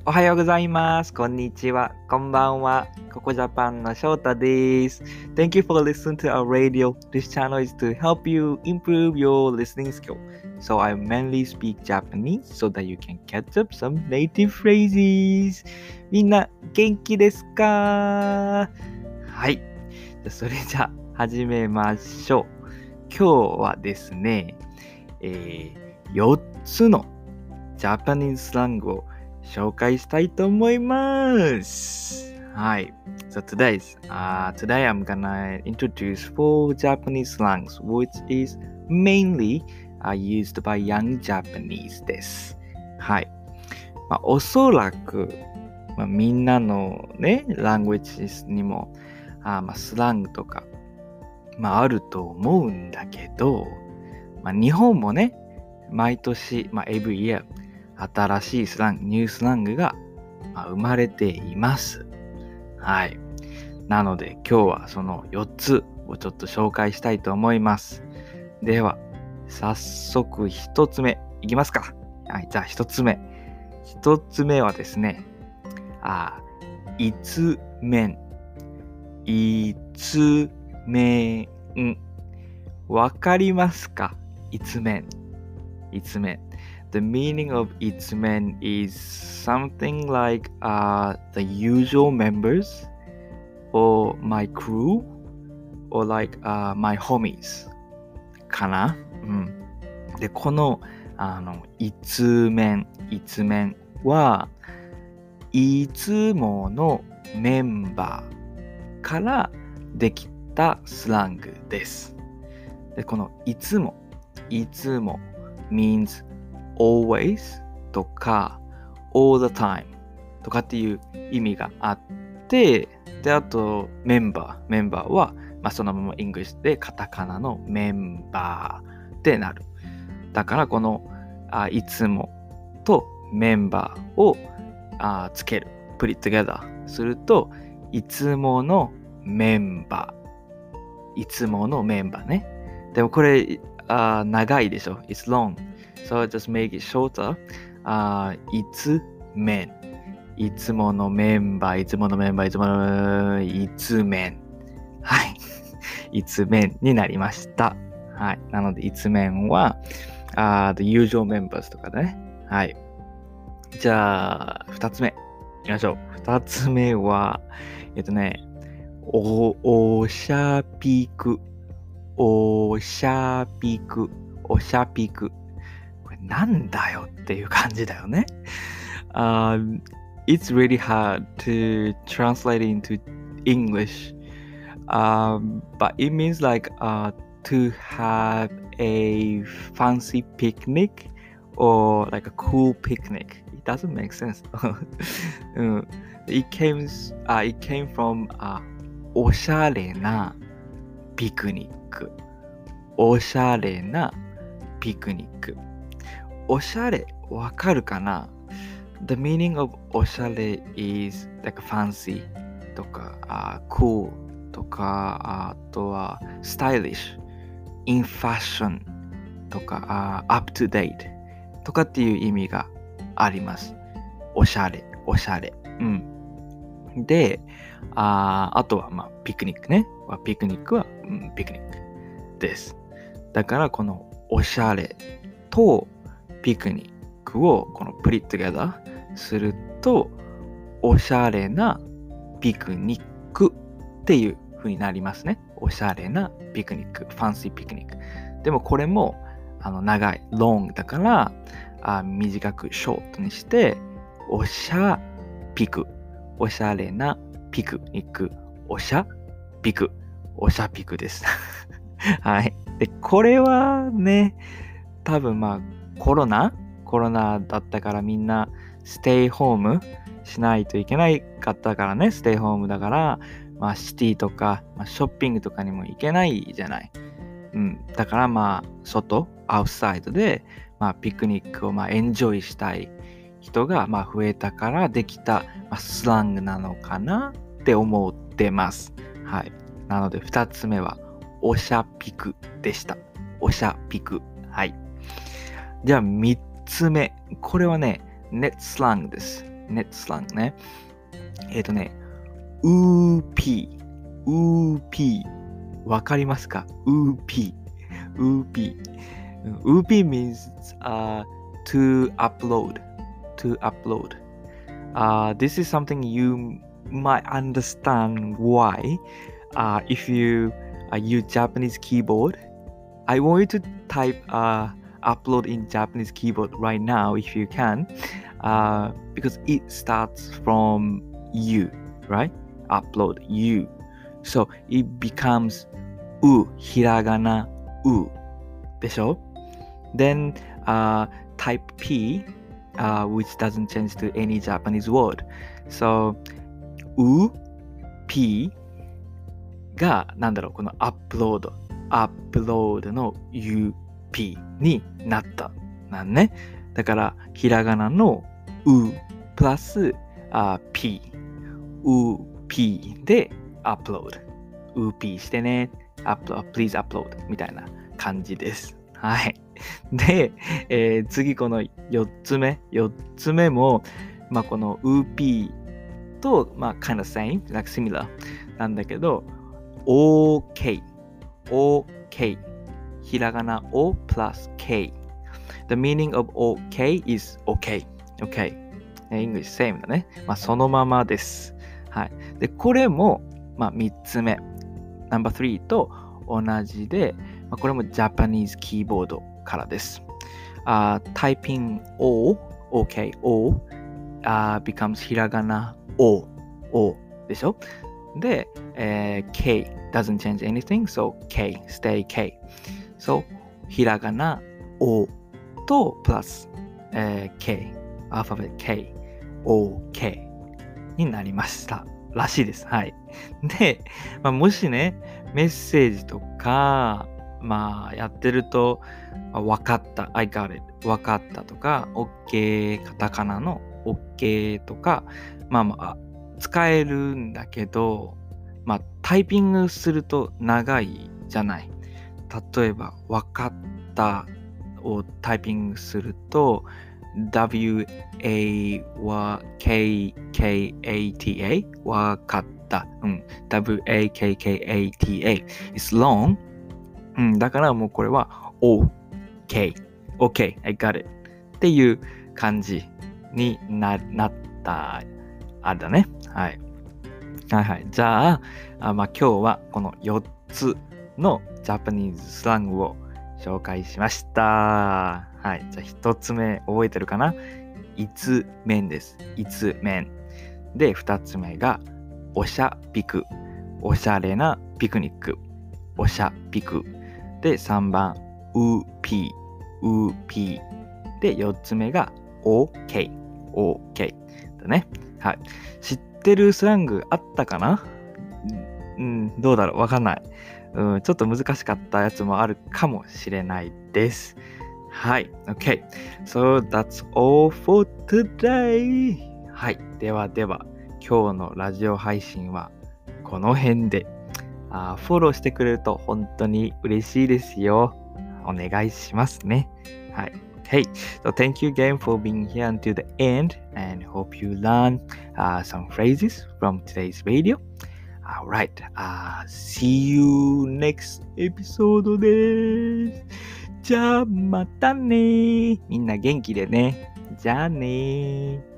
おはようございます。こんにちは。こんばんは。ココジャパンの翔太です。Thank you for listening to our radio. This channel is to help you improve your listening skill. So I mainly speak Japanese so that you can catch up some native phrases. みんな元気ですか？はい。それじゃあ始めましょう。今日はですね、4つのジャパニーズスラングを紹介したいと思います。はい。So today I'm gonna introduce 4 Japanese slangs which is mainly used by young Japanese です。はい。おそらく、みんなのね、languages にもスラングとか、あると思うんだけど、日本もね、毎年、every year新しいスラング、ニュースラングが生まれています。はい。なので今日はその4つをちょっと紹介したいと思います。では、早速1つ目いきますか。はい、じゃあ1つ目。1つ目はですね、いつめん。いつめん。わかりますか？いつめん。いつめん。The meaning of いつめん is something like the usual members or my crew or like my homies かな。で、このいつめんはいつものメンバーからできたスラングです。で、このいつも means always とか all the time とかっていう意味があって、で、あとメンバーは、そのまま English でカタカナのメンバーってなる。だからこのいつもとメンバーをつける put it together するといつものメンバーね。でもこれ長いでしょ。It's long.So just make it shorter. いつめん。いつものメンバー。いつめん。はい。いつめんになりました。はい。なので、いつめんは、the usual members とかね。はい。じゃあ、二つ目。いきましょう。二つ目は、おしゃぴく。なんだよっていう感じだよね。It's really hard to translate into English. But it means like to have a fancy picnic or like a cool picnic. It doesn't make sense. It came from おしゃれなピクニック。おしゃれなピクニック。おしゃれわかるかな？ The meaning of おしゃれ is like fancy とか、cool とか、あとは stylish, in fashion とか、up to date とかっていう意味があります。おしゃれ。で、あとはピクニックね。ピクニックは、ピクニックです。だからこのおしゃれとピクニックをこのプリットゲダーするとおしゃれなピクニックっていう風になりますね。おしゃれなピクニック、ファンシーピクニック。でもこれも長い、long だから短くショートにしておしゃピク、おしゃれなピクニック、おしゃピクです。はい。で、これはね、多分コロナだったからみんなステイホームしないといけないかったからね、ステイホームだから、シティとか、ショッピングとかにも行けないじゃない。だから外、アウトサイドで、ピクニックをエンジョイしたい人が増えたからできた、スラングなのかなって思ってます。はい。なので2つ目はおしゃピクでした。おしゃピク。はい。じゃあ3つ目。これはね、ネットスラングです。 ネットスラングね。ウーピー。わかりますか？ウーピー。ウーピー means to upload. This is something you might understand why. If you use Japanese keyboard, I want you to type upload in Japanese keyboard right now if you can, because it starts from you, right? Upload you. So it becomes ひらがなでしょ? Then type P, which doesn't change to any Japanese word. So P がなんだろう、このアップロードの UP になったなんね。だからひらがなのプラスPでアップロード。P してね。please upload みたいな感じです。はい。で、次この4つ目も、まあ、この P と、まあ、kind of same, like similar なんだけど、OK ひらがな O plus K. The meaning of OK is OK. English same だね。まあ、そのままです。はい。で、これも、まあ、3つ目。ナンバー3と同じで、まあ、これもジャパニーズキーボードからです。Typing OK, becomes ひらがな O でしょ？で、K doesn't change anything, so K, stay K. So, ひらがな O とプラス、K, アルファベット K, OK になりましたらしいです。はい。で、まあ、もしね、メッセージとか、まあ、やってると、わかった、I got it、わかったとか、OK、カタカナの OK とか、まあ、使えるんだけど、まあ、タイピングすると長いじゃない。例えば、わかったをタイピングすると、WAKKATA わかった。WAKKATA is long、だからもうこれは OK I got it っていう感じに なったあれだね。はい。じゃあ、まあ、今日はこの4つのジャパニーズスラングを紹介しました。はい。じゃあ1つ目覚えてるかな？いつめんです。いつめん。で、2つ目がおしゃピク。おしゃれなピクニック。おしゃピク。で、3番、うぴー。で、4つ目が OK だね。はい。知ってるスラングあったかな？どうだろう？わかんない。ちょっと難しかったやつもあるかもしれないです。はい。Okay. So that's all for today. はい。では、今日のラジオ配信はこの辺で。フォローしてくれると本当に嬉しいですよ。お願いしますね。はい。Okay, so thank you again for being here until the end and hope you learn some phrases from today's video. Alright, see you next episode です。じゃあまたね。みんな元気でね。じゃあね。